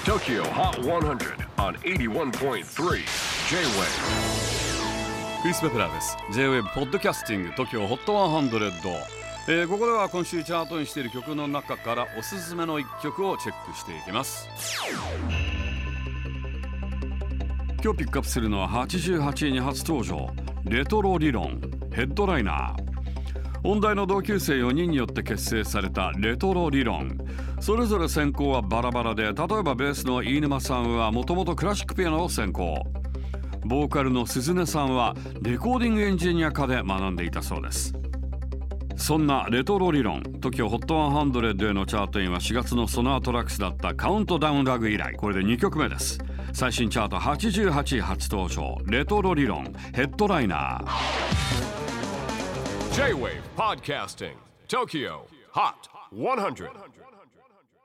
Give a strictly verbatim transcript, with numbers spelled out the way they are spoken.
Tokyo Hot one hundred on エイティワンポイントスリー J-Wave。 クリス・ベプラーです。 J-Wave ポッドキャスティング TOKYO ホットハンドレッド、えー、ここでは今週チャートにしている曲の中からおすすめのいっきょくをチェックしていきます。今日ピックアップするのははちじゅうはちいに初登場、レトロ理論ヘッドライナー。音大の同級生よにんによって結成されたレトロ理論。それぞれ専攻はバラバラで、例えばベースの飯沼さんはもともとクラシックピアノを専攻、ボーカルの鈴音さんはレコーディングエンジニア科で学んでいたそうです。そんなレトロ理論 TOKYO ホットハンドレッドへのチャートインはしがつのソナートラックスだったカウントダウンラグ以来、これでにきょくめです。最新チャートはちじゅうはちい初登場、レトロ理論ヘッドライナー。 J-Wave Podcasting Tokyo Hot one hundred。